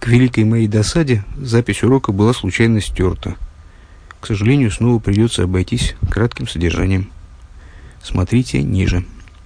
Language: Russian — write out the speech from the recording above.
К великой моей досаде запись урока была случайно стерта. К сожалению, снова придется обойтись кратким содержанием. Смотрите ниже.